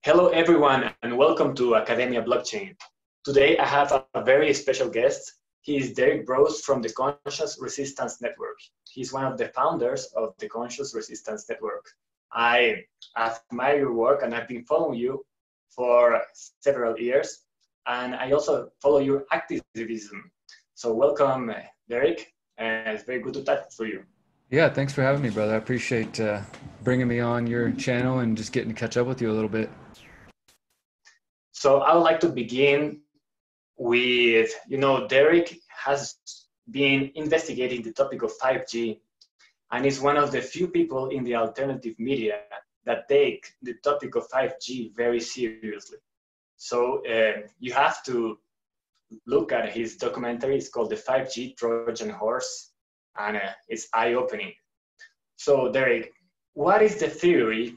Hello, everyone, and welcome to Academia Blockchain. Today, I have a very special guest. He is Derek Brose from the Conscious Resistance Network. He's one of the founders of the Conscious Resistance Network. I admire your work, and I've been following you for several years, and I also follow your activism. So welcome, Derek, and it's very good to talk to you. Yeah, thanks for having me, brother. I appreciate bringing me on your channel and just getting to catch up with you a little bit. So I would like to begin with, Derek has been investigating the topic of 5G and is one of the few people in the alternative media that take the topic of 5G very seriously. So you have to look at his documentary. It's called The 5G Trojan Horse, and it's eye-opening. So Derek, what is the theory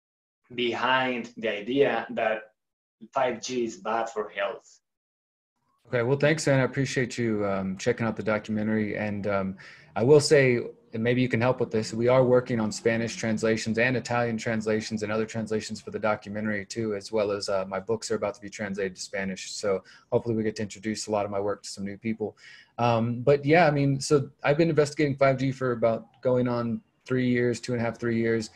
behind the idea that 5G is bad for health? Okay, well, thanks, and I appreciate you checking out the documentary. And I will say, and maybe you can help with this, we are working on Spanish translations and Italian translations and other translations for the documentary too, as well as my books are about to be translated to Spanish. So hopefully we get to introduce a lot of my work to some new people. But yeah, I mean, so I've been investigating 5G for about going on 3 years, 2.5, 3 years.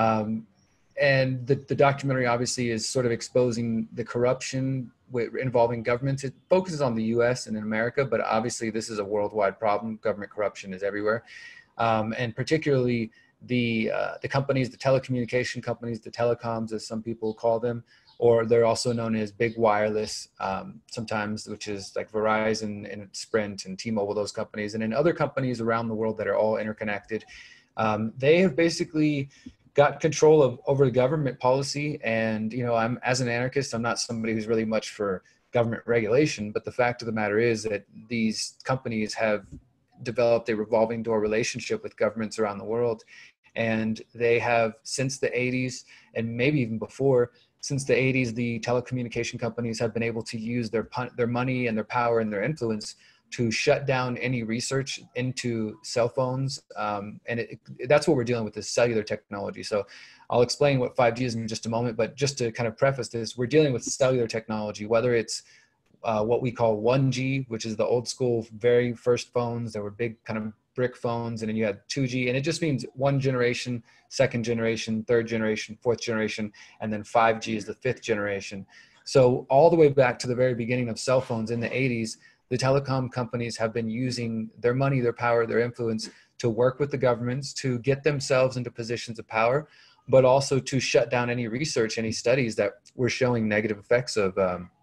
And the documentary obviously is sort of exposing the corruption involving governments. It focuses on the US and in America, but obviously this is a worldwide problem. Government corruption is everywhere. And particularly the companies, the telecommunication companies, the telecoms, as some people call them, or they're also known as big wireless sometimes, which is like Verizon and Sprint and T-Mobile, those companies. And in other companies around the world that are all interconnected, they have basically got control over the government policy. And, I'm, as an anarchist, I'm not somebody who's really much for government regulation, but the fact of the matter is that these companies have developed a revolving door relationship with governments around the world. And they have, since the 80s, and maybe even before, since the 80s, the telecommunication companies have been able to use their money and their power and their influence to shut down any research into cell phones. And that's what we're dealing with, this cellular technology. So I'll explain what 5G is in just a moment, but just to kind of preface this, we're dealing with cellular technology, whether it's what we call 1G, which is the old school, very first phones that were big kind of brick phones. And then you had 2G, and it just means one generation, second generation, third generation, fourth generation, and then 5G is the fifth generation. So all the way back to the very beginning of cell phones in the 80s, the telecom companies have been using their money, their power, their influence to work with the governments to get themselves into positions of power, but also to shut down any research, any studies that were showing negative effects of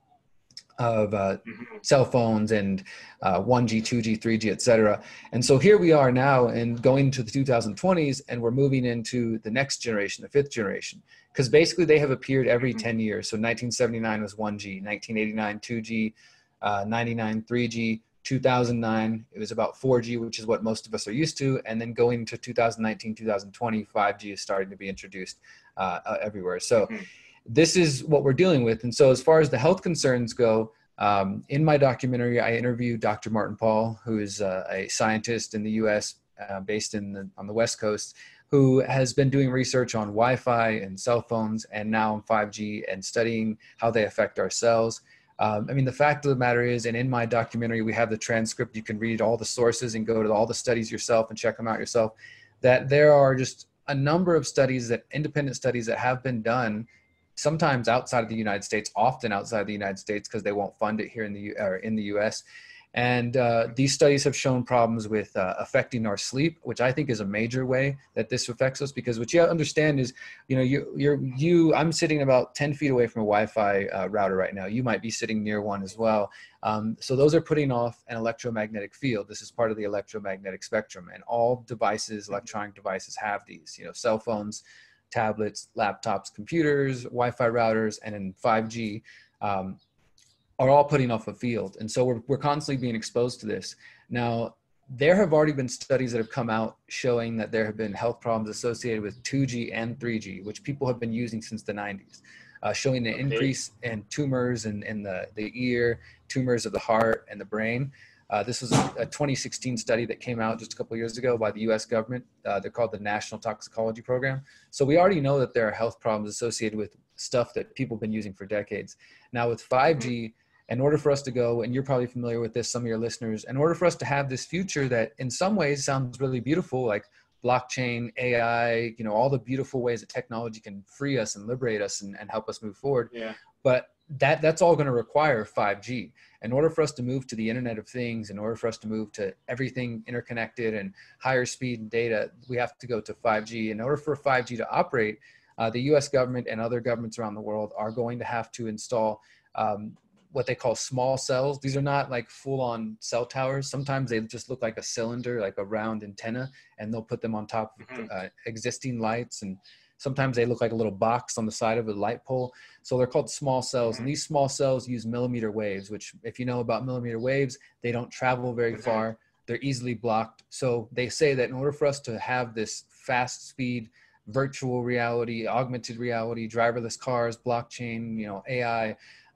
cell phones and 1G, 2G, 3G, et cetera. And so here we are now and going to the 2020s, and we're moving into the next generation, the fifth generation, because basically they have appeared every 10 years. So 1979 was 1G, 1989, 2G, 99, 3G, 2009, it was about 4G, which is what most of us are used to. And then going to 2019, 2020, 5G is starting to be introduced everywhere. So this is what we're dealing with. And so as far as the health concerns go, in my documentary, I interviewed Dr. Martin Pall, who is a scientist in the US based on the West Coast, who has been doing research on Wi-Fi and cell phones and now on 5G and studying how they affect our cells. I mean, the fact of the matter is, and in my documentary, we have the transcript, you can read all the sources and go to all the studies yourself and check them out yourself, that there are just a number of studies, independent studies that have been done, sometimes outside of the United States, often outside of the United States because they won't fund it here in the US. And these studies have shown problems with affecting our sleep, which I think is a major way that this affects us, because what you understand is, I'm sitting about 10 feet away from a Wi-Fi router right now. You might be sitting near one as well. So those are putting off an electromagnetic field. This is part of the electromagnetic spectrum, and all devices, electronic devices, have these, cell phones, tablets, laptops, computers, Wi-Fi routers, and in 5G, are all putting off a field. And so we're constantly being exposed to this. Now, there have already been studies that have come out showing that there have been health problems associated with 2G and 3G, which people have been using since the 90s, showing an increase in tumors in the ear, tumors of the heart and the brain. This was a 2016 study that came out just a couple of years ago by the US government. They're called the National Toxicology Program. So we already know that there are health problems associated with stuff that people have been using for decades. Now with 5G, in order for us to go, and you're probably familiar with this, some of your listeners, in order for us to have this future that in some ways sounds really beautiful, like blockchain, AI, you know, all the beautiful ways that technology can free us and liberate us and help us move forward. Yeah. But that's all going to require 5G. In order for us to move to the Internet of Things, in order for us to move to everything interconnected and higher speed data, we have to go to 5G. In order for 5G to operate, the US government and other governments around the world are going to have to install what they call small cells. These are not like full-on cell towers. Sometimes they just look like a cylinder, like a round antenna, and they'll put them on top of existing lights. And sometimes they look like a little box on the side of a light pole. So they're called small cells. And these small cells use millimeter waves, which if you know about millimeter waves, they don't travel very far. They're easily blocked. So they say that in order for us to have this fast speed, virtual reality, augmented reality, driverless cars, blockchain, you know, AI,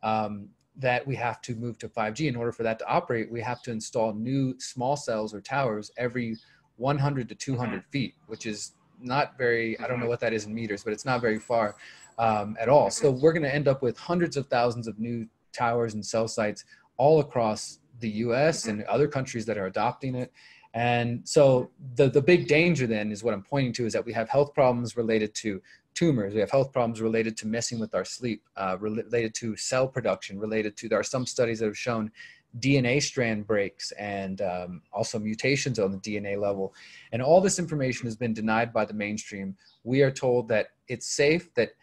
that we have to move to 5G. In order for that to operate, we have to install new small cells or towers every 100 to 200 feet, which is not very, I don't know what that is in meters, but it's not very far at all. So we're going to end up with hundreds of thousands of new towers and cell sites all across the US and other countries that are adopting it. And so the big danger then is what I'm pointing to is that we have health problems related to tumors. We have health problems related to messing with our sleep, related to cell production, there are some studies that have shown DNA strand breaks and also mutations on the DNA level. And all this information has been denied by the mainstream. We are told that it's safe, that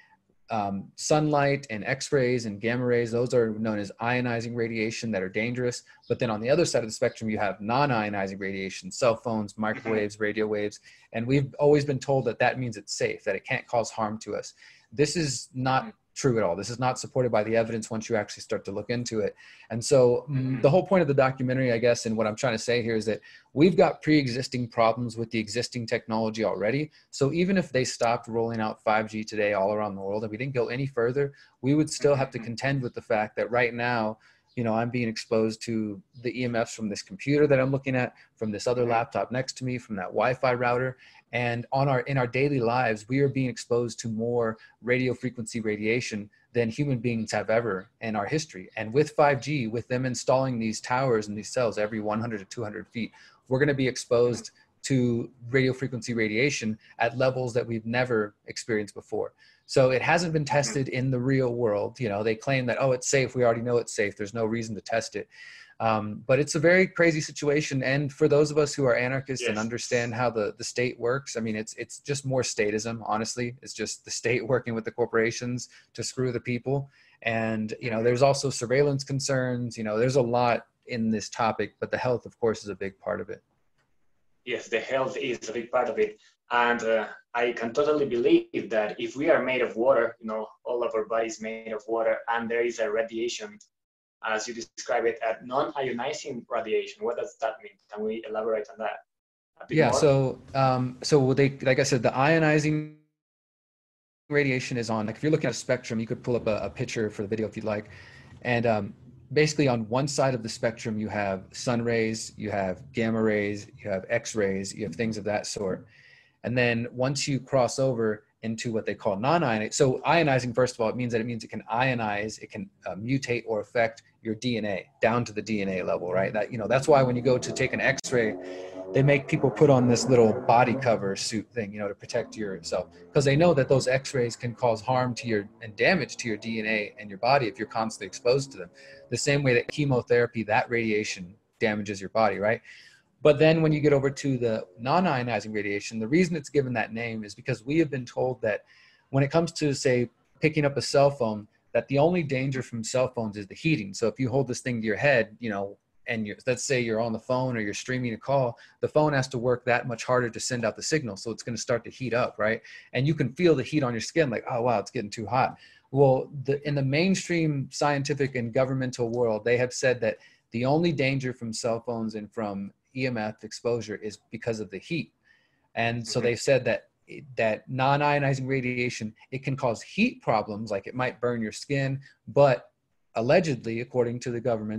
sunlight and X-rays and gamma rays, those are known as ionizing radiation that are dangerous. But then on the other side of the spectrum, you have non-ionizing radiation, cell phones, microwaves, radio waves. And we've always been told that that means it's safe, that it can't cause harm to us. This is not true at all. This is not supported by the evidence once you actually start to look into it. And so the whole point of the documentary, I guess, and what I'm trying to say here is that we've got pre-existing problems with the existing technology already. So even if they stopped rolling out 5G today all around the world and we didn't go any further, we would still have to contend with the fact that right now, you know, I'm being exposed to the EMFs from this computer that I'm looking at, from this other laptop next to me, from that Wi-Fi router. And in our daily lives, we are being exposed to more radio frequency radiation than human beings have ever in our history. And with 5G, with them installing these towers and these cells every 100 to 200 feet, we're going to be exposed to radio frequency radiation at levels that we've never experienced before. So it hasn't been tested in the real world. You know, they claim that, oh, it's safe. We already know it's safe. There's no reason to test it. But it's a very crazy situation. And for those of us who are anarchists and understand how the state works, I mean, it's just more statism, honestly. It's just the state working with the corporations to screw the people. And, you know, there's also surveillance concerns. You know, there's a lot in this topic, but the health, of course, is a big part of it. Yes, the health is a big part of it. And I can totally believe that if we are made of water, you know, all of our bodies made of water, and there is a radiation, as you describe it, at non-ionizing radiation. What does that mean? Can we elaborate on that a bit more? So they, like I said, the ionizing radiation is on, like if you're looking at a spectrum, you could pull up a picture for the video if you'd like. And basically on one side of the spectrum, you have sun rays, you have gamma rays, you have X-rays, you have things of that sort. And then once you cross over into what they call non-ionizing. So ionizing, first of all, it means it can ionize, it can mutate or affect your DNA down to the DNA level, right? That, you know, that's why when you go to take an X-ray, they make people put on this little body cover suit thing, you know, to protect yourself, because they know that those X-rays can cause harm to and damage to your DNA and your body if you're constantly exposed to them. The same way that chemotherapy, that radiation damages your body, right? But then when you get over to the non-ionizing radiation, the reason it's given that name is because we have been told that when it comes to, say, picking up a cell phone, that the only danger from cell phones is the heating. So if you hold this thing to your head, you know, and let's say you're on the phone or you're streaming a call, the phone has to work that much harder to send out the signal. So it's going to start to heat up, right? And you can feel the heat on your skin, like, oh, wow, it's getting too hot. Well, in the mainstream scientific and governmental world, they have said that the only danger from cell phones and from EMF exposure is because of the heat. And so they've said that non-ionizing radiation, it can cause heat problems, like it might burn your skin, but allegedly, according to the governments,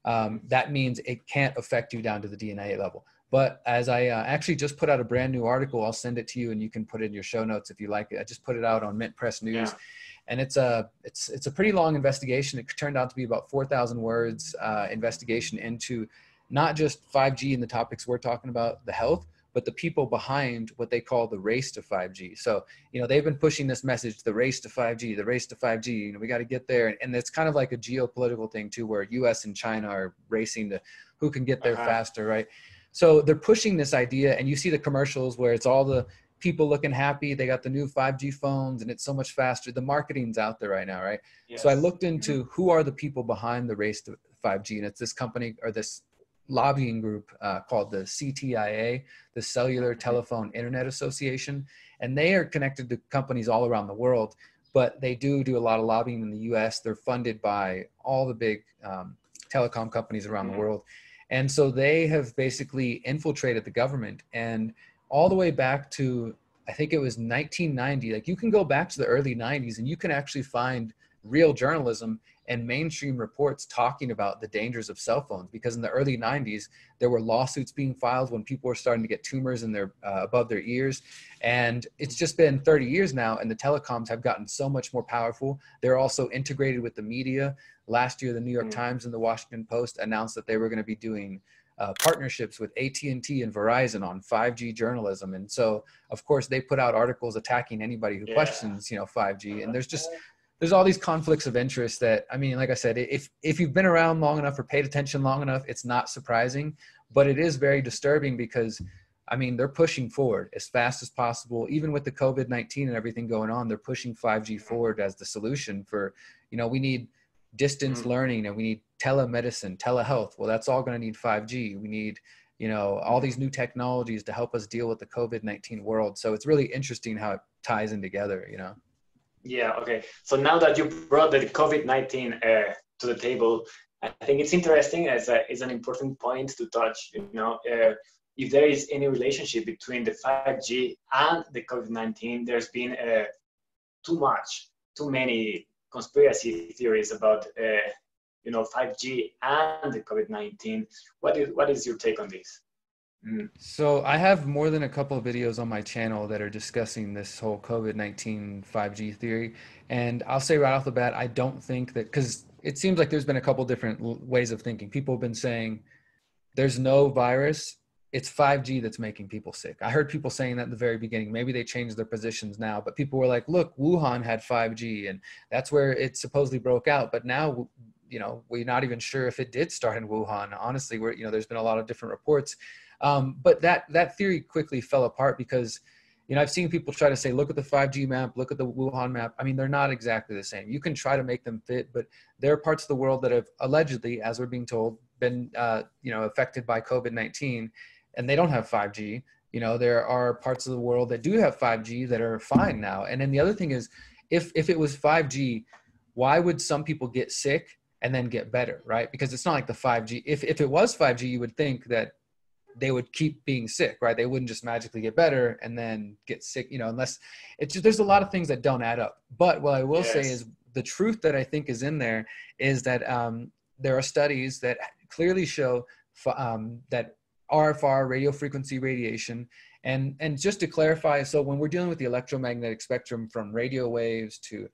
that means it can't affect you down to the DNA level. But as I actually just put out a brand new article, I'll send it to you and you can put it in your show notes if you like it. I just put it out on Mint Press News. Yeah. And it's a pretty long investigation. It turned out to be about 4,000 words investigation into not just 5G and the topics we're talking about, the health, but the people behind what they call the race to 5G. So, you know, they've been pushing this message, the race to 5G, the race to 5G, you know, we got to get there. And it's kind of like a geopolitical thing too, where US and China are racing to who can get there faster, right? So they're pushing this idea, and you see the commercials where it's all the people looking happy. They got the new 5G phones and it's so much faster. The marketing's out there right now, right? Yes. So I looked into who are the people behind the race to 5G, and it's this company or this lobbying group called the CTIA, the Cellular Telephone Internet Association. And they are connected to companies all around the world, but they do a lot of lobbying in the US. They're funded by all the big telecom companies around the world. And so they have basically infiltrated the government, and all the way back to, I think it was 1990, like you can go back to the early 90s and you can actually find real journalism and mainstream reports talking about the dangers of cell phones, because in the early 90s, there were lawsuits being filed when people were starting to get tumors in their above their ears. And it's just been 30 years now, and the telecoms have gotten so much more powerful. They're also integrated with the media. Last year, the New York Times and the Washington Post announced that they were going to be doing partnerships with AT&T and Verizon on 5G journalism. And so, of course, they put out articles attacking anybody who questions, you know, 5G. And there's all these conflicts of interest that, I mean, like I said, if you've been around long enough or paid attention long enough, it's not surprising, but it is very disturbing because, I mean, they're pushing forward as fast as possible. Even with the COVID-19 and everything going on, they're pushing 5G forward as the solution for, you know, we need distance learning and we need telemedicine, telehealth. Well, that's all going to need 5G. We need, you know, all these new technologies to help us deal with the COVID-19 world. So it's really interesting how it ties in together, you know? Yeah, okay. So now that you brought the COVID-19 to the table, I think it's interesting as it's an important point to touch, you know, if there is any relationship between the 5G and the COVID-19. There's been too many conspiracy theories about, you know, 5G and the COVID-19. What is your take on this? So I have more than a couple of videos on my channel that are discussing this whole COVID-19 5G theory. And I'll say right off the bat, I don't think that, because it seems like there's been a couple different ways of thinking. People have been saying there's no virus, it's 5G that's making people sick. I heard people saying that at the very beginning. Maybe they changed their positions now, but people were like, look, Wuhan had 5G and that's where it supposedly broke out. But now, you know, we're not even sure if it did start in Wuhan. Honestly, you know, there's been a lot of different reports. But that theory quickly fell apart because, you know, I've seen people try to say, look at the 5G map, look at the Wuhan map. I mean, they're not exactly the same. You can try to make them fit, but there are parts of the world that have allegedly, as we're being told, been, you know, affected by COVID-19, and they don't have 5G. You know, there are parts of the world that do have 5G that are fine now. And then the other thing is, if it was 5G, why would some people get sick and then get better, right? Because it's not like the 5G. If it was 5G, you would think that they would keep being sick, right? They wouldn't just magically get better and then get sick, you know, unless it's just, there's a lot of things that don't add up. But what I will say is the truth that I think is in there is that there are studies that clearly show that RFR, radio frequency radiation, and just to clarify, so when we're dealing with the electromagnetic spectrum from radio waves to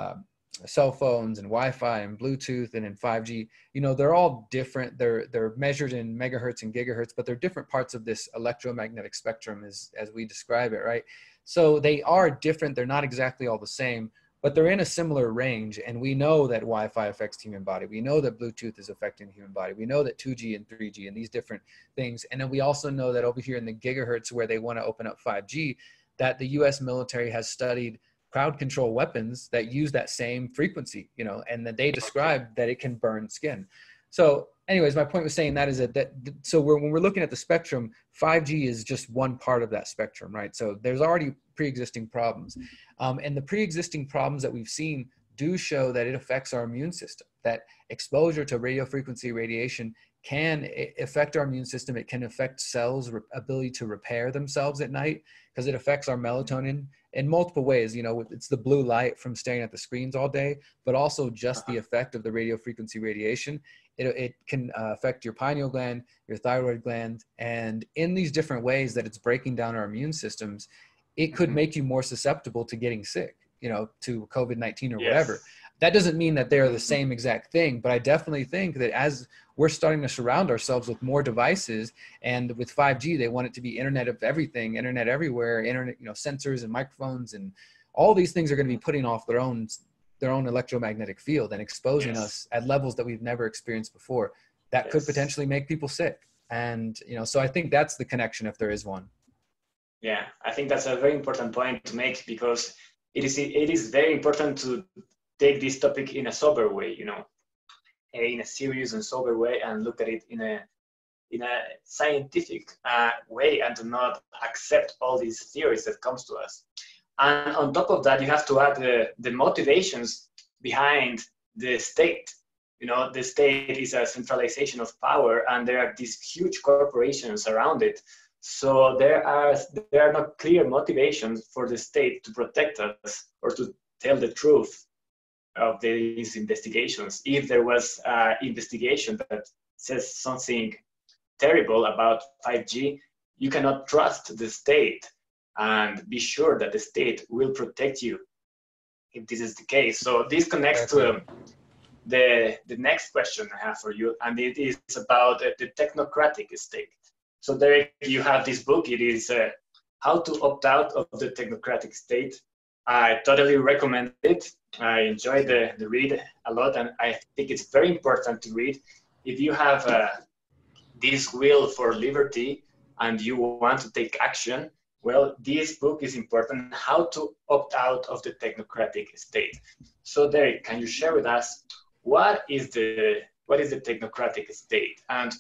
cell phones and Wi-Fi and Bluetooth and in 5G, you know, they're all different. They're measured in megahertz and gigahertz, but they're different parts of this electromagnetic spectrum as we describe it, right? So they are different. They're not exactly all the same, but they're in a similar range. And we know that Wi-Fi affects the human body. We know that Bluetooth is affecting the human body. We know that 2G and 3G and these different things. And then we also know that over here in the gigahertz where they want to open up 5G, that the US military has studied crowd control weapons that use that same frequency, you know, and that they describe that it can burn skin. So anyways, my point was saying that is so when we're looking at the spectrum, 5G is just one part of that spectrum, right? So there's already pre-existing problems. And the pre-existing problems that we've seen do show that it affects our immune system, that exposure to radio frequency radiation can affect our immune system. It can affect cells' ability to repair themselves at night because it affects our melatonin in multiple ways. You know, it's the blue light from staring at the screens all day, but also just the effect of the radio frequency radiation. It can affect your pineal gland, your thyroid gland, and in these different ways that it's breaking down our immune systems, it could make you more susceptible to getting sick, you know, to COVID-19 or whatever. That doesn't mean that they're the same exact thing, but I definitely think that as we're starting to surround ourselves with more devices, and with 5G, they want it to be internet of everything, internet everywhere, internet, you know, sensors and microphones, and all these things are going to be putting off their own electromagnetic field and exposing us at levels that we've never experienced before. That could potentially make people sick. And, you know, so I think that's the connection, if there is one. Yeah, I think that's a very important point to make, because it is very important to take this topic in a sober way, you know, in a serious and sober way, and look at it in a scientific way, and to not accept all these theories that comes to us. And on top of that, you have to add the motivations behind the state. You know, the state is a centralization of power, and there are these huge corporations around it. So there are not clear motivations for the state to protect us or to tell the truth of these investigations. If there was an investigation that says something terrible about 5G, you cannot trust the state and be sure that the state will protect you if this is the case. So this connects to the next question I have for you, and it is about the technocratic state. So there you have this book. It is How to Opt Out of the Technocratic State. I totally recommend it. I enjoyed the read a lot, and I think it's very important to read. If you have this will for liberty and you want to take action, well, this book is important, How to Opt Out of the Technocratic State. So Derek, can you share with us what is the technocratic state, and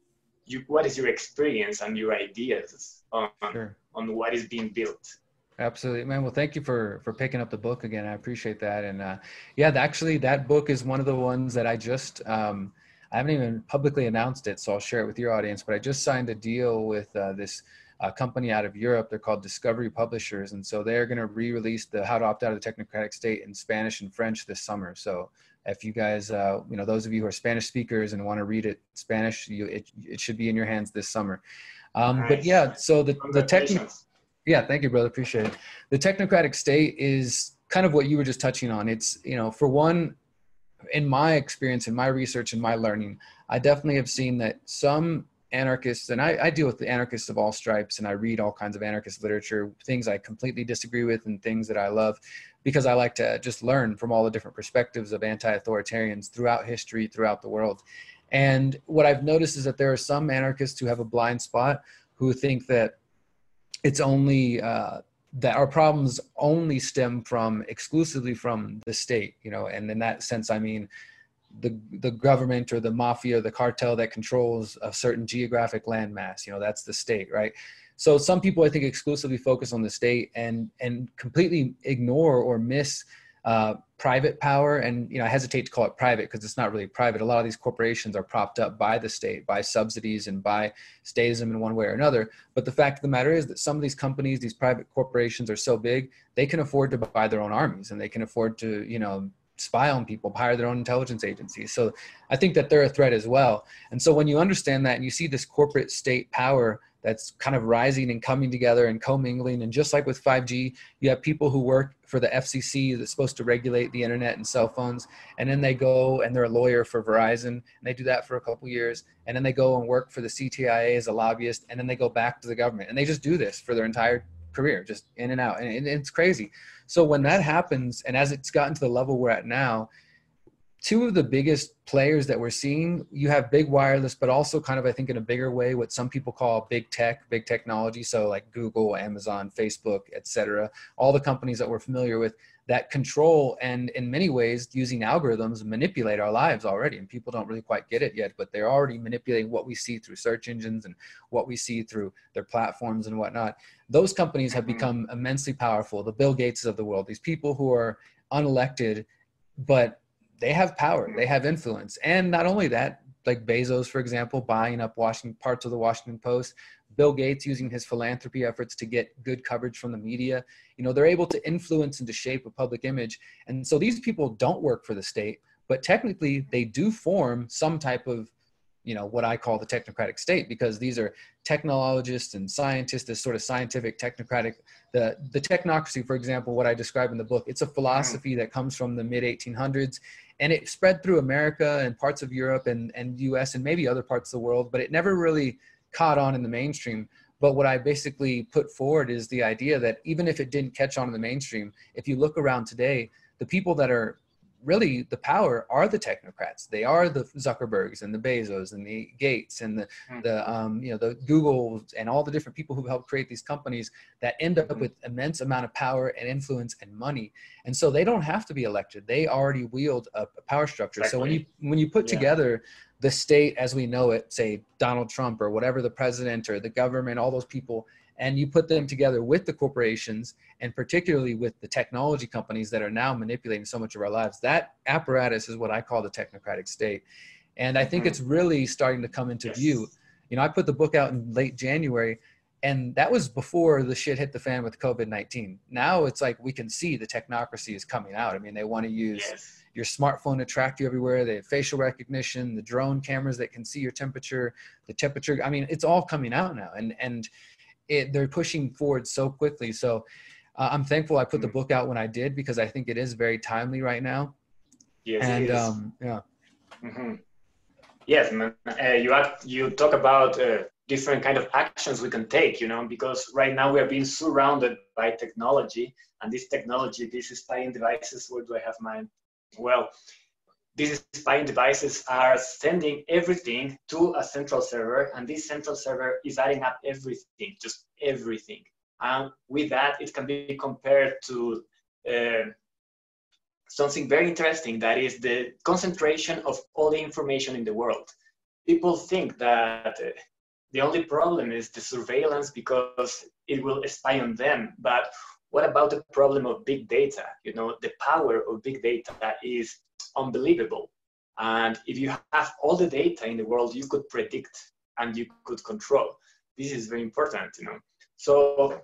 what is your experience and your ideas on what is being built? Absolutely, man. Well, thank you for picking up the book again. I appreciate that. And actually that book is one of the ones that I just, I haven't even publicly announced it, so I'll share it with your audience, but I just signed a deal with this company out of Europe. They're called Discovery Publishers. And so they're going to re-release the How to Opt Out of the Technocratic State in Spanish and French this summer. So if you guys, you know, those of you who are Spanish speakers and want to read it in Spanish, it should be in your hands this summer. Nice. But yeah, so the technical, yeah, thank you, brother. Appreciate it. The technocratic state is kind of what you were just touching on. It's, you know, for one, in my experience, in my research and my learning, I definitely have seen that some anarchists, and I deal with the anarchists of all stripes, and I read all kinds of anarchist literature, things I completely disagree with and things that I love, because I like to just learn from all the different perspectives of anti-authoritarians throughout history, throughout the world. And what I've noticed is that there are some anarchists who have a blind spot, who think that it's only that our problems only stem from exclusively from the state, you know, and in that sense, I mean, the government or the mafia or the cartel that controls a certain geographic landmass, you know, that's the state, right? So some people, I think, exclusively focus on the state and completely ignore or miss private power. And, you know, I hesitate to call it private because it's not really private. A lot of these corporations are propped up by the state, by subsidies and by statism in one way or another. But the fact of the matter is that some of these companies, these private corporations are so big, they can afford to buy their own armies, and they can afford to, you know, spy on people, hire their own intelligence agencies. So I think that they're a threat as well. And so when you understand that and you see this corporate state power that's kind of rising and coming together and commingling, and just like with 5G, you have people who work for the FCC that's supposed to regulate the internet and cell phones, and then they go and they're a lawyer for Verizon, and they do that for a couple years, and then they go and work for the CTIA as a lobbyist, and then they go back to the government, and they just do this for their entire career, just in and out, and it's crazy. So when that happens, and as it's gotten to the level we're at now, two of the biggest players that we're seeing, you have big wireless, but also kind of, I think in a bigger way, what some people call big tech, big technology. So like Google, Amazon, Facebook, etc. All the companies that we're familiar with that control and in many ways using algorithms manipulate our lives already. And people don't really quite get it yet, but they're already manipulating what we see through search engines and what we see through their platforms and whatnot. Those companies have become immensely powerful. The Bill Gates of the world, these people who are unelected, but they have power, they have influence. And not only that, like Bezos, for example, buying up parts of the Washington Post, Bill Gates using his philanthropy efforts to get good coverage from the media. You know, they're able to influence and to shape a public image. And so these people don't work for the state, but technically they do form some type of, you know, what I call the technocratic state, because these are technologists and scientists, this sort of scientific technocratic, the technocracy, for example, what I describe in the book, it's a philosophy that comes from the mid 1800s, and it spread through America and parts of Europe and US and maybe other parts of the world, but it never really caught on in the mainstream. But what I basically put forward is the idea that even if it didn't catch on in the mainstream, if you look around today, the people that are really the power are the technocrats. They are the Zuckerbergs and the Bezos and the Gates and the you know, the Googles and all the different people who helped create these companies that end up with immense amount of power and influence and money. And so they don't have to be elected. They already wield a power structure. Exactly. So when you put together the state as we know it, say Donald Trump or whatever, the president or the government, all those people, and you put them together with the corporations and particularly with the technology companies that are now manipulating so much of our lives, that apparatus is what I call the technocratic state. And I think it's really starting to come into view. You know, I put the book out in late January, and that was before the shit hit the fan with COVID-19. Now it's like we can see the technocracy is coming out. I mean, they want to use your smartphone to track you everywhere. They have facial recognition, the drone cameras that can see your temperature, the temperature. I mean, it's all coming out now. And they're pushing forward so quickly. So I'm thankful I put the book out when I did, because I think it is very timely right now. Yes, and it is. Yes, man. You talk about different kind of actions we can take, you know, because right now we are being surrounded by technology, and this technology, these spying devices, where do I have mine? Well, these spying devices are sending everything to a central server, and this central server is adding up everything, just everything. And with that, it can be compared to something very interesting, that is the concentration of all the information in the world. People think that the only problem is the surveillance because it will spy on them. But what about the problem of big data? You know, the power of big data is unbelievable. And if you have all the data in the world, you could predict and you could control. This is very important, you know. So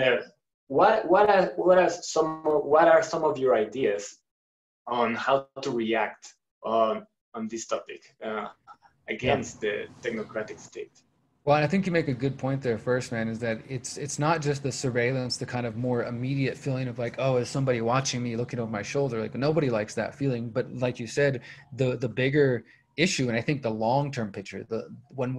what are some of your ideas on how to react on this topic against the technocratic state? Well, and I think you make a good point there first, man, is that it's not just the surveillance, the kind of more immediate feeling of like, oh, is somebody watching me, looking over my shoulder? Like, nobody likes that feeling. But like you said, the bigger issue, and I think the long-term picture, when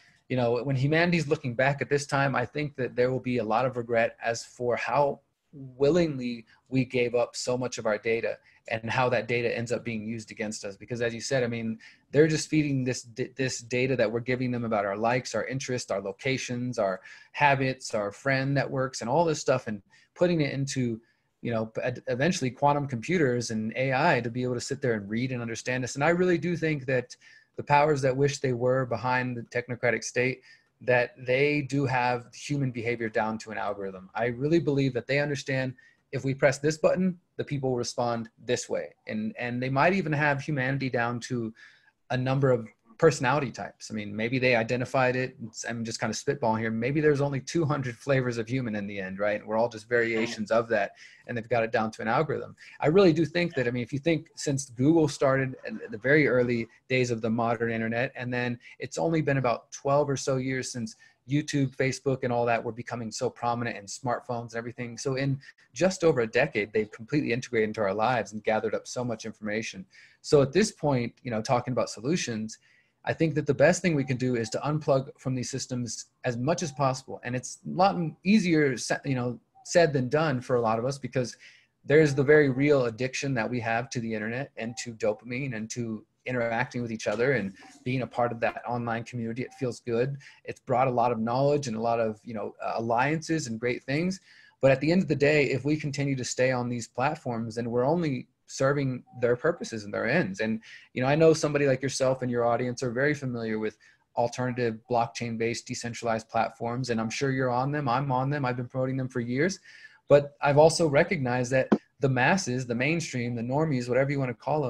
humanity's looking back at this time, I think that there will be a lot of regret as for how willingly we gave up so much of our data and how that data ends up being used against us. Because as you said, I mean, they're just feeding this data that we're giving them about our likes, our interests, our locations, our habits, our friend networks, and all this stuff, and putting it into, you know, eventually quantum computers and AI to be able to sit there and read and understand us. And I really do think that the powers that wish they were behind the technocratic state, that they do have human behavior down to an algorithm. I really believe that they understand if we press this button, the people respond this way. And they might even have humanity down to a number of personality types. I mean, maybe they identified it. I'm just kind of spitballing here. Maybe there's only 200 flavors of human in the end, right? We're all just variations of that, and they've got it down to an algorithm. I really do think that, I mean, if you think since Google started in the very early days of the modern internet, and then it's only been about 12 or so years since YouTube, Facebook, and all that were becoming so prominent, and smartphones and everything. So in just over a decade, they've completely integrated into our lives and gathered up so much information. So at this point, you know, talking about solutions, I think that the best thing we can do is to unplug from these systems as much as possible. And it's a lot easier, you know, said than done for a lot of us, because there's the very real addiction that we have to the internet and to dopamine and to interacting with each other and being a part of that online community. It feels good. It's brought a lot of knowledge and a lot of, you know, alliances and great things. But at the end of the day, if we continue to stay on these platforms, then we're only serving their purposes and their ends. And, you know, I know somebody like yourself and your audience are very familiar with alternative blockchain-based decentralized platforms. And I'm sure you're on them. I'm on them. I've been promoting them for years. But I've also recognized that the masses, the mainstream, the normies, whatever you want to call them,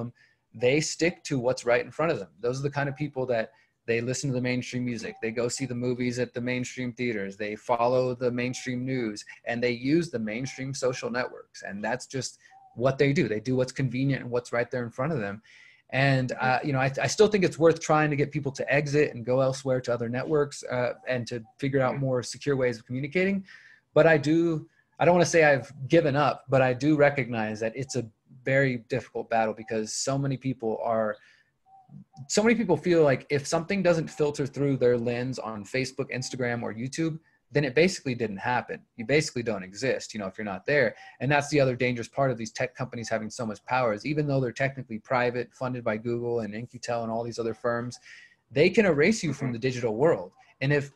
they stick to what's right in front of them. Those are the kind of people that they listen to the mainstream music, they go see the movies at the mainstream theaters, they follow the mainstream news, and they use the mainstream social networks. And that's just what they do. They do what's convenient and what's right there in front of them. And, you know, I still think it's worth trying to get people to exit and go elsewhere to other networks and to figure out more secure ways of communicating. But I don't want to say I've given up, but I do recognize that it's a very difficult battle, because so many people feel like if something doesn't filter through their lens on Facebook, Instagram, or YouTube, then it basically didn't happen. You basically don't exist, you know, if you're not there. And that's the other dangerous part of these tech companies having so much power, is even though they're technically private, funded by Google and In-Q-Tel and all these other firms, they can erase you from the digital world. And if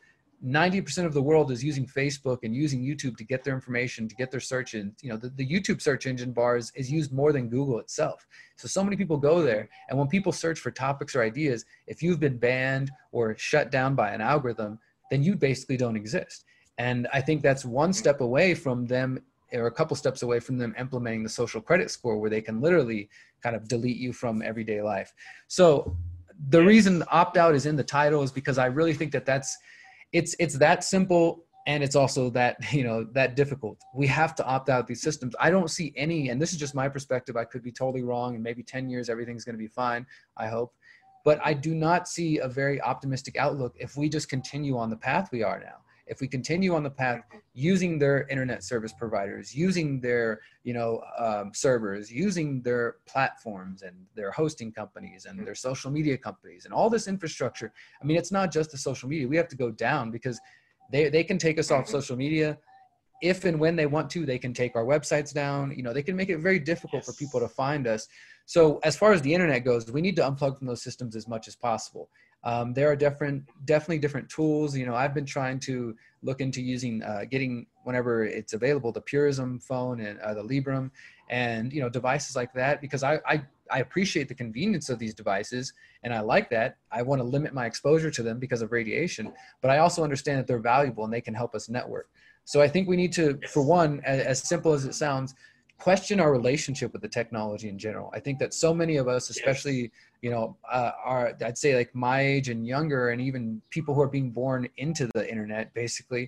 90% of the world is using Facebook and using YouTube to get their information, to get their search in, you know, the YouTube search engine bars is used more than Google itself. So many people go there. And when people search for topics or ideas, if you've been banned or shut down by an algorithm, then you basically don't exist. And I think that's one step away from them, or a couple steps away from them implementing the social credit score, where they can literally kind of delete you from everyday life. So the reason opt-out is in the title is because I really think that it's that simple, and it's also that, you know, that difficult. We have to opt out of these systems. I don't see any, and this is just my perspective, I could be totally wrong, and maybe 10 years, everything's going to be fine, I hope. But I do not see a very optimistic outlook if we just continue on the path we are now. If we continue on the path using their internet service providers, using their, you know, servers, using their platforms and their hosting companies and their social media companies and all this infrastructure. I mean, it's not just the social media. We have to go down, because they can take us off social media. If and when they want to, they can take our websites down. You know, they can make it very difficult for people to find us. So as far as the internet goes, we need to unplug from those systems as much as possible. There are definitely different tools. You know, I've been trying to look into using, getting, whenever it's available, the Purism phone and the Librem, and, you know, devices like that, because I appreciate the convenience of these devices, and I like that. I want to limit my exposure to them because of radiation, but I also understand that they're valuable and they can help us network. So I think we need to, for one, as simple as it sounds, question our relationship with the technology in general. I think that so many of us, especially, you know, I'd say like my age and younger, and even people who are being born into the internet, basically,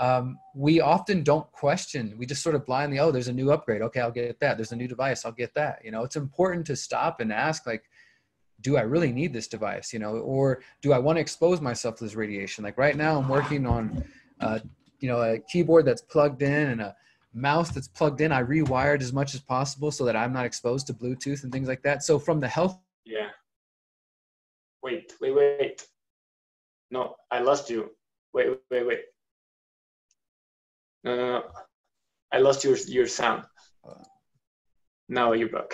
we often don't question. We just sort of blindly, oh, there's a new upgrade. Okay, I'll get that. There's a new device. I'll get that. You know, it's important to stop and ask, like, do I really need this device? You know, or do I want to expose myself to this radiation? Like right now I'm working on, you know, a keyboard that's plugged in and a mouse that's plugged in. I rewired as much as possible so that I'm not exposed to Bluetooth and things like that. So from the health. Yeah. Wait. No, I lost you. Wait. No. I lost your sound. Now you're back.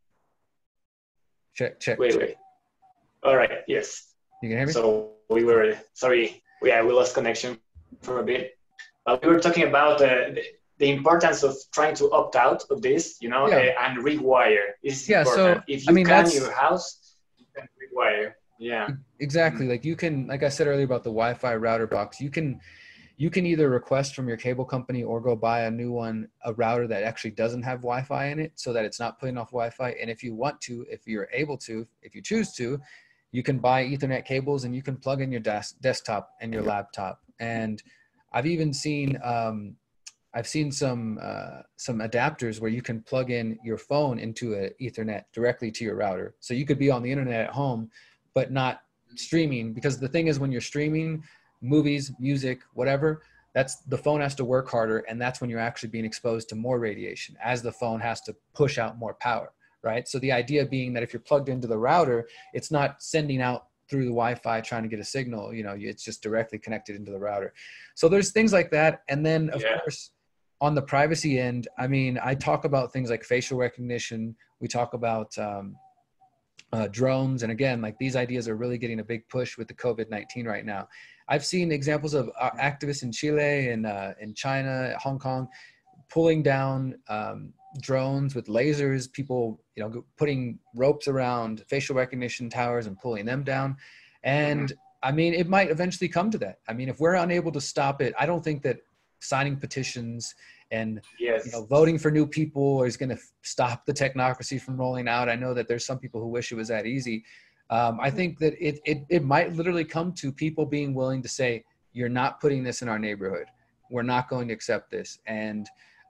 Check. Wait. All right. Yes. You can hear me? So we were, sorry. We lost connection for a bit. We were talking about the importance of trying to opt out of this, you know, and rewire is important. So if you can in your house, you can rewire. Yeah. Exactly. Like you can, like I said earlier about the Wi-Fi router box, you can either request from your cable company or go buy a new one, a router that actually doesn't have Wi-Fi in it, so that it's not putting off Wi-Fi. And if you want to, if you're able to, if you choose to, you can buy Ethernet cables and you can plug in your desktop and your laptop. And I've even seen, I've seen some adapters where you can plug in your phone into an Ethernet directly to your router. So you could be on the internet at home, but not streaming, because the thing is, when you're streaming movies, music, whatever, that's, the phone has to work harder, and that's when you're actually being exposed to more radiation as the phone has to push out more power, right? So the idea being that if you're plugged into the router, it's not sending out through the Wi-Fi trying to get a signal, you know, it's just directly connected into the router. So there's things like that. And then of course, on the privacy end, I mean, I talk about things like facial recognition. We talk about drones. And again, like these ideas are really getting a big push with the COVID-19 right now. I've seen examples of activists in Chile and in China, Hong Kong, pulling down drones with lasers, people, you know, putting ropes around facial recognition towers and pulling them down. And I mean, it might eventually come to that. I mean, if we're unable to stop it, I don't think that signing petitions and Yes. voting for new people is going to stop the technocracy from rolling out. I know that there's some people who wish it was that easy. I think that it might literally come to people being willing to say, you're not putting this in our neighborhood. We're not going to accept this. And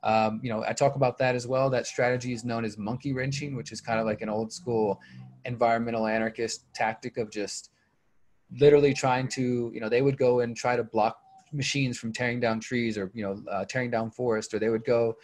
I talk about that as well. That strategy is known as monkey wrenching, which is kind of like an old school environmental anarchist tactic of just literally trying to, they would go and try to block machines from tearing down trees or, tearing down forest, or they would go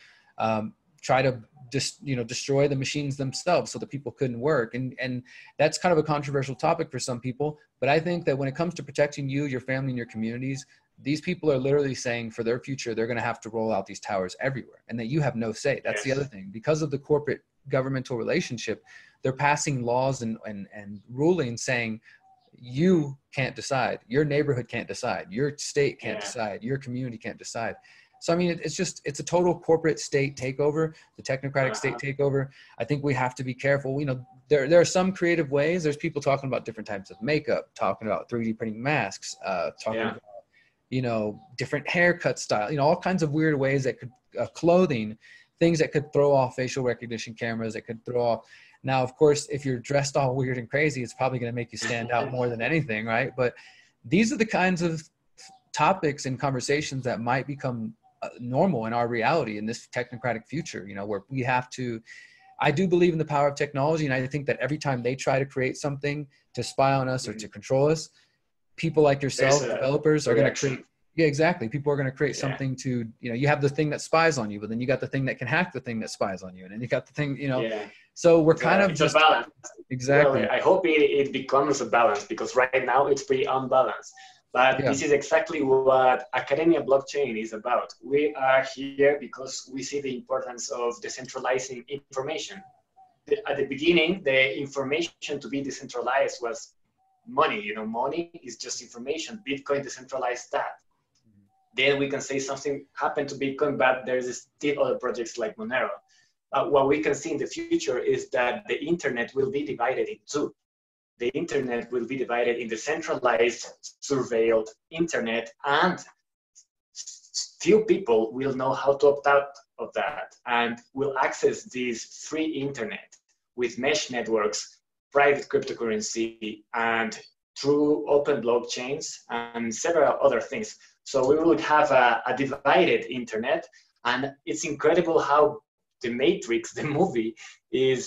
try to just, destroy the machines themselves so that people couldn't work. And that's kind of a controversial topic for some people. But I think that when it comes to protecting you, your family, and your communities, these people are literally saying for their future, they're going to have to roll out these towers everywhere, and that you have no say. That's the other thing. Because of the corporate governmental relationship, they're passing laws and rulings saying, you can't decide, your neighborhood can't decide, your state can't decide, your community can't decide. So, I mean, it's a total corporate state takeover, the technocratic state takeover. I think we have to be careful. There are some creative ways. There's people talking about different types of makeup, talking about 3D printing masks, talking about, different haircut style, all kinds of weird ways that could, clothing, things that could throw off facial recognition cameras, that could throw off. Now, of course, if you're dressed all weird and crazy, it's probably going to make you stand out more than anything, right? But these are the kinds of topics and conversations that might become normal in our reality in this technocratic future, where we have to, I do believe in the power of technology. And I think that every time they try to create something to spy on us or to control us, people like yourself, developers, are going to create. Yeah, exactly. People are going to create something to, you have the thing that spies on you, but then you got the thing that can hack the thing that spies on you. And then you got the thing, so we're kind of just a balance. Exactly. Well, I hope it becomes a balance, because right now it's pretty unbalanced. But this is exactly what Academia Blockchain is about. We are here because we see the importance of decentralizing information. At the beginning, the information to be decentralized was money. Money is just information. Bitcoin decentralized that. Then we can say something happened to Bitcoin, but there's still other projects like Monero. What we can see in the future is that the internet will be divided in two. The internet will be divided in the centralized, surveilled internet, and few people will know how to opt out of that and will access this free internet with mesh networks, private cryptocurrency, and through open blockchains and several other things. So we would have a divided internet, and it's incredible how The Matrix, the movie, is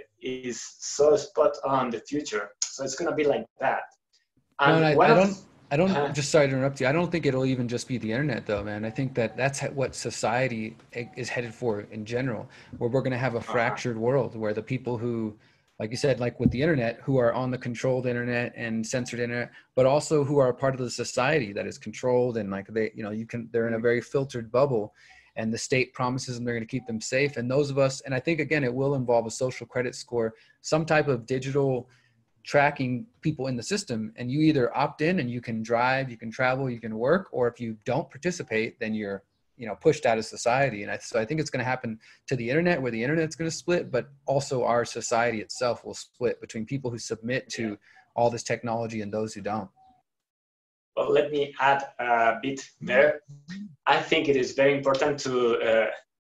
so spot on the future. So it's going to be like that. And I don't just sorry to interrupt you. I don't think it'll even just be the internet though, man. I think that that's what society is headed for in general, where we're going to have a fractured world where the people who, like you said, like with the internet, who are on the controlled internet and censored internet, but also who are a part of the society that is controlled, and like they're in a very filtered bubble, and the state promises them they're going to keep them safe. And those of us, and I think again, it will involve a social credit score, some type of digital tracking people in the system, and you either opt in and you can drive, you can travel, you can work, or if you don't participate, then you're pushed out of society. And so I think it's going to happen to the internet, where the internet's going to split, but also our society itself will split between people who submit to all this technology and those who don't. Well, let me add a bit there. I think it is very important to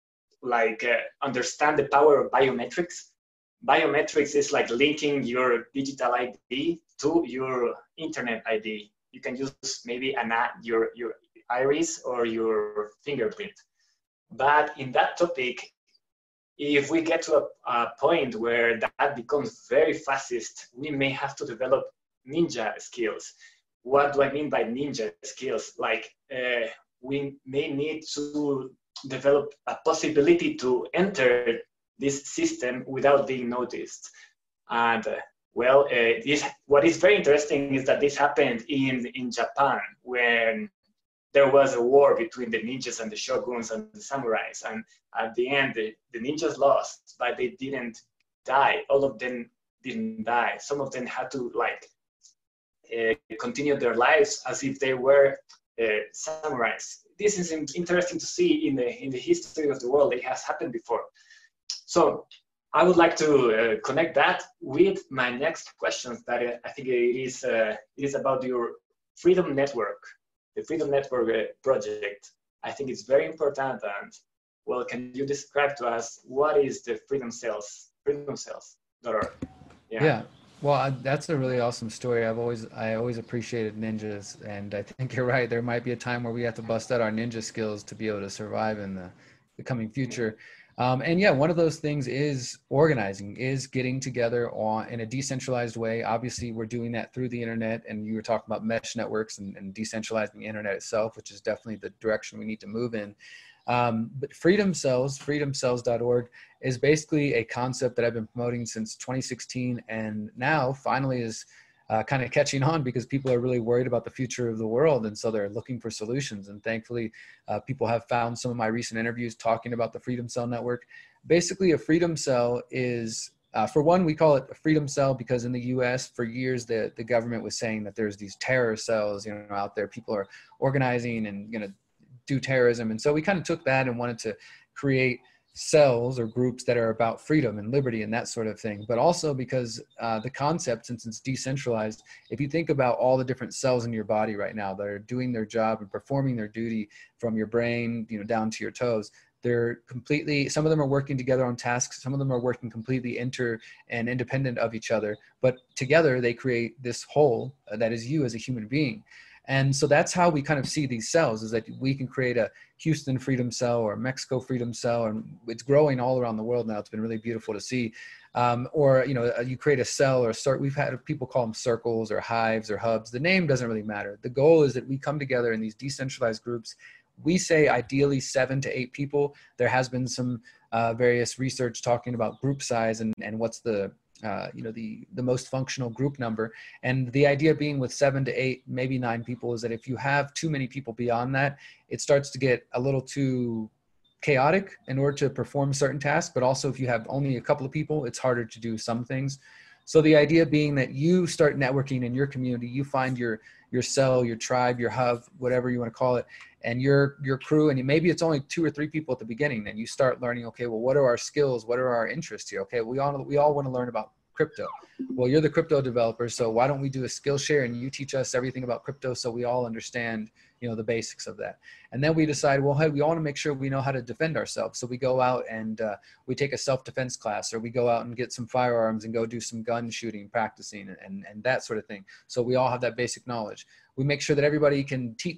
understand the power of biometrics. Biometrics is like linking your digital ID to your internet ID. You can use maybe your iris or your fingerprint. But in that topic, if we get to a point where that becomes very fascist, we may have to develop ninja skills. What do I mean by ninja skills? We may need to develop a possibility to enter this system without being noticed. And what is very interesting is that this happened in Japan, when there was a war between the ninjas and the shoguns and the samurais. And at the end, the ninjas lost, but they didn't die. All of them didn't die. Some of them had to continue their lives as if they were samurais. This is interesting to see in the history of the world. It has happened before. So I would like to connect that with my next questions. That I think it is about your Freedom Network, the Freedom Network project. I think it's very important, and well, can you describe to us what is the Freedom Cells, freedomcells.org? Yeah. Yeah. Well, that's a really awesome story. I always appreciated ninjas, and I think you're right. There might be a time where we have to bust out our ninja skills to be able to survive in the coming future. And yeah, one of those things is organizing, is getting together in a decentralized way. Obviously, we're doing that through the internet, and you were talking about mesh networks and decentralizing the internet itself, which is definitely the direction we need to move in. But Freedom Cells, freedomcells.org, is basically a concept that I've been promoting since 2016, and now finally is kind of catching on because people are really worried about the future of the world, and so they're looking for solutions. And thankfully, people have found some of my recent interviews talking about the Freedom Cell Network. Basically, a Freedom Cell is, for one, we call it a Freedom Cell because in the U.S. for years the government was saying that there's these terror cells, out there. People are organizing and do terrorism, and so we kind of took that and wanted to create cells or groups that are about freedom and liberty and that sort of thing. But also because the concept, since it's decentralized, if you think about all the different cells in your body right now that are doing their job and performing their duty, from your brain down to your toes, they're completely, some of them are working together on tasks, some of them are working completely and independent of each other, but together they create this whole that is you as a human being. And so that's how we kind of see these cells, is that we can create a Houston Freedom Cell or a Mexico Freedom Cell, and it's growing all around the world now. It's been really beautiful to see. Or, you create a cell or we've had people call them circles or hives or hubs. The name doesn't really matter. The goal is that we come together in these decentralized groups. We say ideally 7 to 8 people. There has been some various research talking about group size and what's the most functional group number. And the idea being with 7 to 8, maybe 9 people, is that if you have too many people beyond that, it starts to get a little too chaotic in order to perform certain tasks. But also if you have only a couple of people, it's harder to do some things. So the idea being that you start networking in your community, you find your cell, your tribe, your hub, whatever you want to call it, and your crew, and maybe it's only 2 or 3 people at the beginning, and you start learning, okay, well, what are our skills? What are our interests here? Okay, we all want to learn about crypto. Well, you're the crypto developer, so why don't we do a skill share and you teach us everything about crypto so we all understand, the basics of that. And then we decide, well, hey, we want to make sure we know how to defend ourselves. So we go out and we take a self-defense class, or we go out and get some firearms and go do some gun shooting, practicing and that sort of thing. So we all have that basic knowledge. We make sure that everybody can do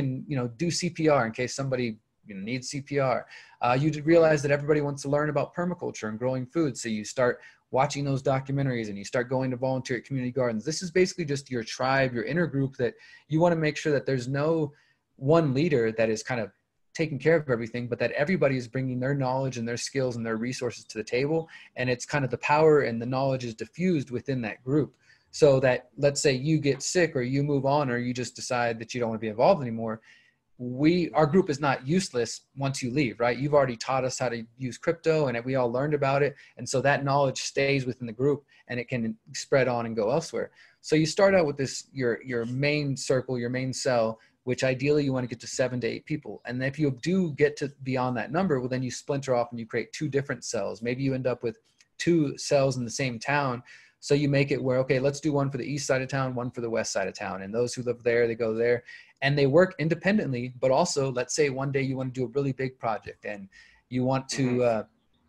CPR in case somebody needs CPR. You realize that everybody wants to learn about permaculture and growing food. So you start watching those documentaries and you start going to volunteer at community gardens. This is basically just your tribe, your inner group, that you want to make sure that there's no one leader that is kind of taking care of everything, but that everybody is bringing their knowledge and their skills and their resources to the table. And it's kind of the power and the knowledge is diffused within that group. So that, let's say you get sick or you move on or you just decide that you don't want to be involved anymore, our group is not useless once you leave, right? You've already taught us how to use crypto and we all learned about it. And so that knowledge stays within the group and it can spread on and go elsewhere. So you start out with this, your main circle, your main cell, which ideally you want to get to 7 to 8 people. And if you do get to beyond that number, well, then you splinter off and you create 2 different cells. Maybe you end up with 2 cells in the same town. So you make it where, okay, let's do one for the east side of town, one for the west side of town. And those who live there, they go there. And they work independently, but also, let's say one day you want to do a really big project and you want to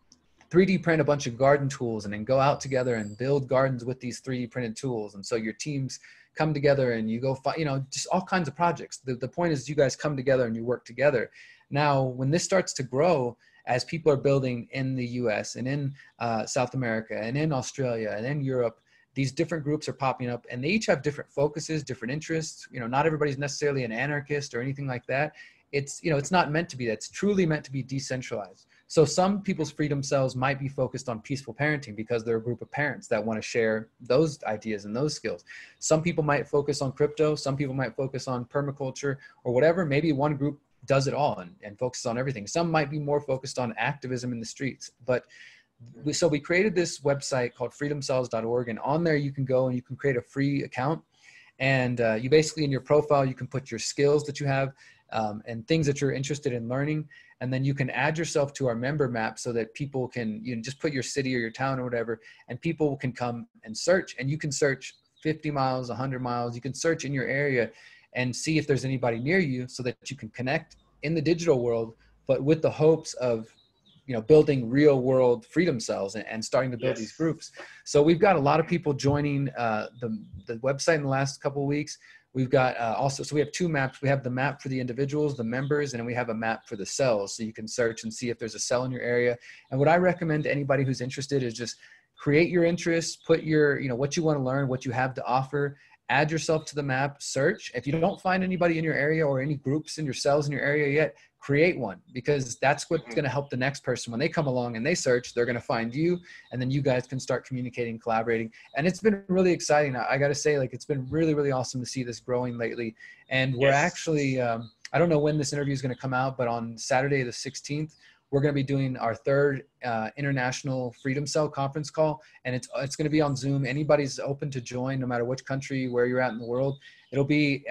3D print a bunch of garden tools and then go out together and build gardens with these 3D printed tools. And so your teams come together and you go, just all kinds of projects. The point is you guys come together and you work together. Now, when this starts to grow, as people are building in the US and in South America and in Australia and in Europe, these different groups are popping up and they each have different focuses, different interests. Not everybody's necessarily an anarchist or anything like that. It's not meant to be that. It's truly meant to be decentralized. So some people's freedom cells might be focused on peaceful parenting because they're a group of parents that want to share those ideas and those skills. Some people might focus on crypto. Some people might focus on permaculture or whatever. Maybe one group does it all and focuses on everything. Some might be more focused on activism in the streets, but so we created this website called freedomcells.org, and on there you can go and you can create a free account. And you basically, in your profile, you can put your skills that you have and things that you're interested in learning. And then you can add yourself to our member map so that people can, just put your city or your town or whatever, and people can come and search. And you can search 50 miles, 100 miles. You can search in your area and see if there's anybody near you so that you can connect in the digital world, but with the hopes of, building real world freedom cells and starting to build these groups. So we've got a lot of people joining the website in the last couple of weeks. We've got so we have two maps. We have the map for the individuals, the members, and then we have a map for the cells. So you can search and see if there's a cell in your area. And what I recommend to anybody who's interested is just create your interests, put your, what you want to learn, what you have to offer, add yourself to the map, search. If you don't find anybody in your area or any groups in your cells in your area yet, create one, because that's what's going to help the next person. When they come along and they search, they're going to find you, and then you guys can start communicating, collaborating. And it's been really exciting. I got to say, it's been really, really awesome to see this growing lately. And we're actually, I don't know when this interview is going to come out, but on Saturday, the 16th, we're going to be doing our third International Freedom Cell conference call, and it's going to be on Zoom. Anybody's open to join, no matter which country, where you're at in the world. It'll be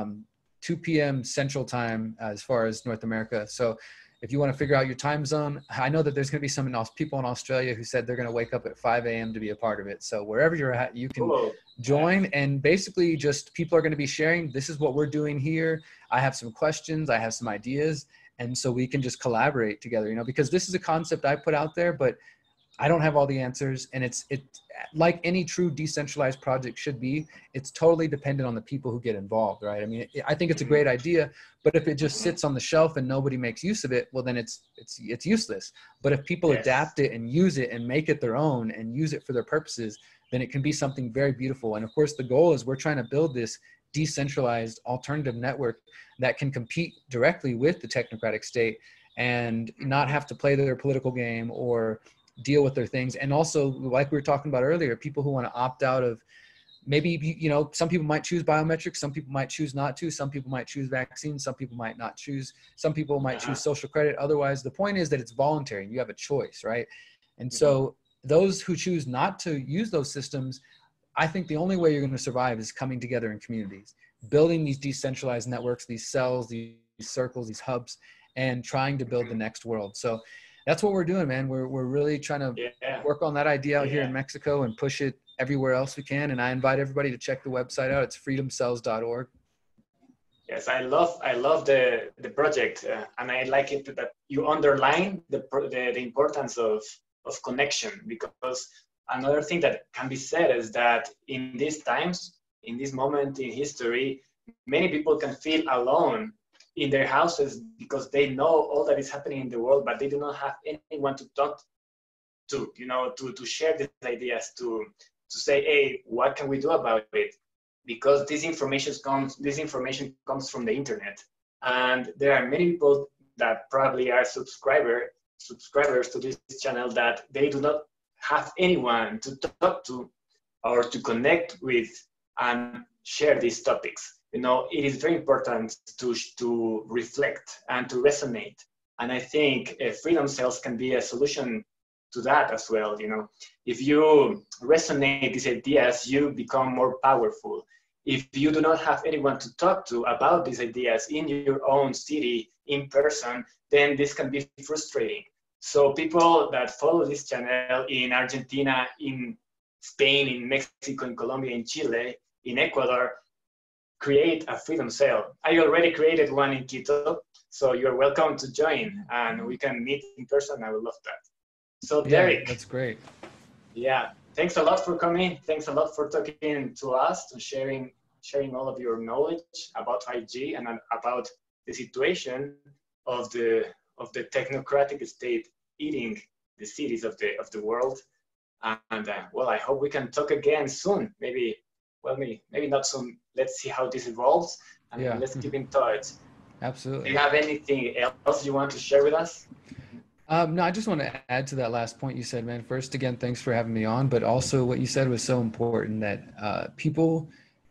2 p.m. Central Time as far as North America. So if you want to figure out your time zone, I know that there's going to be some people in Australia who said they're going to wake up at 5 a.m. to be a part of it. So wherever you're at, you can join, and basically just people are going to be sharing, this is what we're doing here. I have some questions. I have some ideas. And so we can just collaborate together, because this is a concept I put out there, but I don't have all the answers. And it's like any true decentralized project should be, it's totally dependent on the people who get involved, right? I mean, I think it's a great idea, but if it just sits on the shelf and nobody makes use of it, well, then it's useless. But if people adapt it and use it and make it their own and use it for their purposes, then it can be something very beautiful. And of course, the goal is we're trying to build this decentralized alternative network that can compete directly with the technocratic state and not have to play their political game or deal with their things. And also, like we were talking about earlier, people who want to opt out of, maybe, some people might choose biometrics, some people might choose not to, some people might choose vaccines, some people might not choose, some people might choose social credit. Otherwise, the point is that it's voluntary and you have a choice, right? And so those who choose not to use those systems, I think the only way you're going to survive is coming together in communities, building these decentralized networks, these cells, these circles, these hubs, and trying to build the next world. So that's what we're doing, man. We're really trying to work on that idea out here in Mexico and push it everywhere else we can. And I invite everybody to check the website out. It's freedomcells.org. Yes, I love the project, and I like it that you underline the importance of connection, because another thing that can be said is that in these times, in this moment in history, many people can feel alone in their houses because they know all that is happening in the world, but they do not have anyone to talk to, to share these ideas, to say, hey, what can we do about it? Because this information comes from the internet, and there are many people that probably are subscribers to this channel that they do not have anyone to talk to or to connect with and share these topics. It is very important to reflect and to resonate. And I think Freedom Cells can be a solution to that as well. If you resonate these ideas, you become more powerful. If you do not have anyone to talk to about these ideas in your own city, in person, then this can be frustrating. So people that follow this channel in Argentina, in Spain, in Mexico, in Colombia, in Chile, in Ecuador, create a Freedom Cell. I already created one in Quito, so you're welcome to join, and we can meet in person. I would love that. So Derek. That's great. Yeah, thanks a lot for coming. Thanks a lot for talking to us, to sharing all of your knowledge about 5G and about the situation of the technocratic state eating the cities of the world. And well, I hope we can talk again soon. Maybe not soon. Let's see how this evolves, and let's keep in touch. Absolutely. Do you have anything else you want to share with us? No, I just want to add to that last point you said, man. First, again, thanks for having me on. But also what you said was so important that people,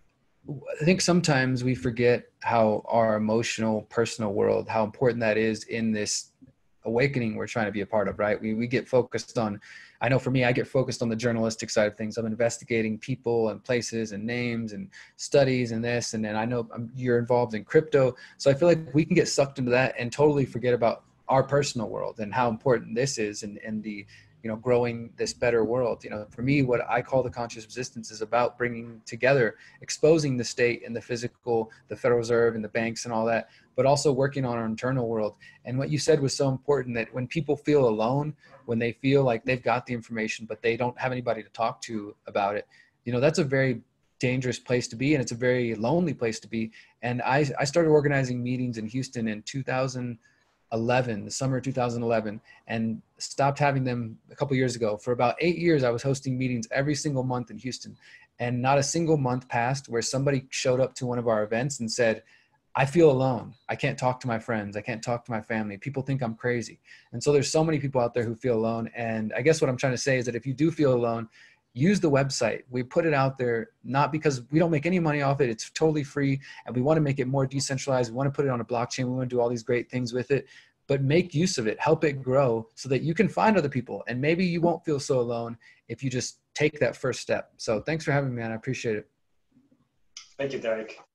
I think sometimes we forget how our emotional, personal world, how important that is in this awakening we're trying to be a part of, right? We get focused on, I know for me, I get focused on the journalistic side of things. I'm investigating people and places and names and studies and this, and then I know you're involved in crypto. So I feel like we can get sucked into that and totally forget about our personal world and how important this is, and the growing this better world. For me, what I call the conscious resistance is about bringing together, exposing the state and the physical, the Federal Reserve and the banks and all that, but also working on our internal world. And what you said was so important, that when people feel alone, when they feel like they've got the information, but they don't have anybody to talk to about it, that's a very dangerous place to be. And it's a very lonely place to be. And I started organizing meetings in Houston in 2011, the summer of 2011, and stopped having them a couple years ago. For about 8 years, I was hosting meetings every single month in Houston. And not a single month passed where somebody showed up to one of our events and said, I feel alone. I can't talk to my friends. I can't talk to my family. People think I'm crazy. And so there's so many people out there who feel alone. And I guess what I'm trying to say is that if you do feel alone, use the website. We put it out there, not because we don't make any money off it. It's totally free. And we want to make it more decentralized. We want to put it on a blockchain. We want to do all these great things with it, but make use of it, help it grow so that you can find other people. And maybe you won't feel so alone if you just take that first step. So thanks for having me, man. I appreciate it. Thank you, Derek.